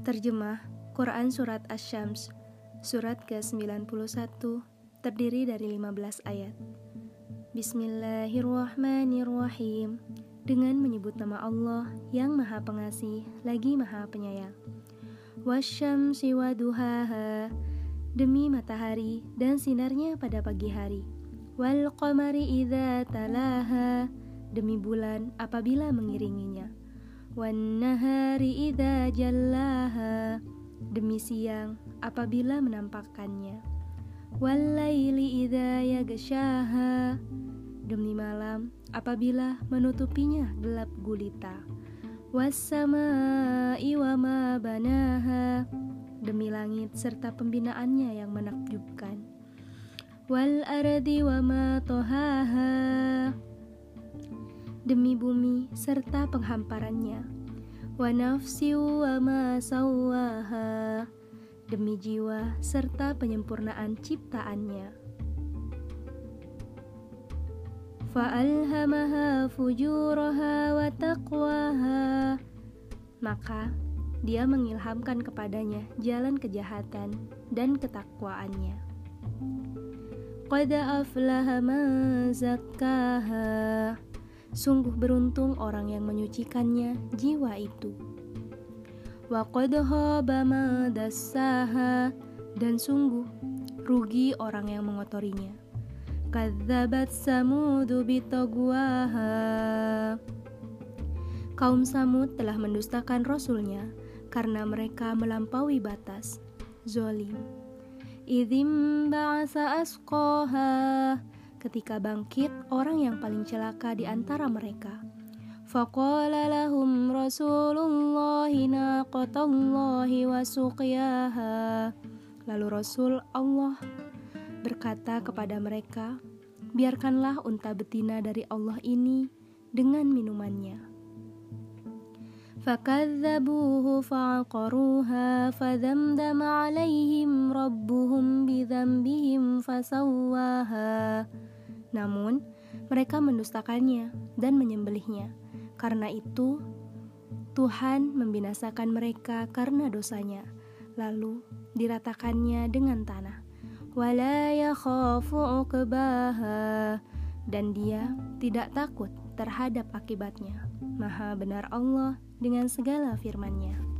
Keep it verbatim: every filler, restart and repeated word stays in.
Terjemah Quran Surat Asy-Syams, surat ke sembilan puluh satu, terdiri dari lima belas ayat. Bismillahirrahmanirrahim. Dengan menyebut nama Allah yang Maha Pengasih lagi Maha Penyayang. Wasyamsi waduhaha, demi matahari dan sinarnya pada pagi hari. Wal qamari idza talaha, demi bulan apabila mengiringinya. Wan nahari idza jallaha, demi siang apabila menampakkannya. Wal laili idza yaghshaha, demi malam apabila menutupinya gelap gulita. Was samaa'i wa ma banaha, demi langit serta pembinaannya yang menakjubkan. Wal ardi wa ma tohaha, demi bumi serta penghamparannya. Wa nafsi wa ma sawwaha, demi jiwa serta penyempurnaan ciptaannya. Fa'alhamaha fujuraha wa taqwaha, maka dia mengilhamkan kepadanya jalan kejahatan dan ketakwaannya. Qad aflaha man zakkaha, sungguh beruntung orang yang menyucikannya jiwa itu. Wa qad khaba man dassaha, dan sungguh rugi orang yang mengotorinya. Kadzabat Samudu bitagwaha, kaum Samud telah mendustakan rasulnya karena mereka melampaui batas. Zolim. Idzim ba'asa asqaha, ketika bangkit orang yang paling celaka di antara mereka. Faqala lahum rasulullahi naqatallahi wa suqyaha, lalu Rasul Allah berkata kepada mereka, biarkanlah unta betina dari Allah ini dengan minumannya. Fakadzabuhu fa'aqaruha fadamdama 'alaihim rabbuhum bidzambihim fasawwaha, namun mereka mendustakannya dan menyembelihnya. Karena itu Tuhan membinasakan mereka karena dosanya, lalu diratakannya dengan tanah. Wala yakhafu 'uqbaha, dan dia tidak takut terhadap akibatnya. Maha benar Allah dengan segala firman-Nya.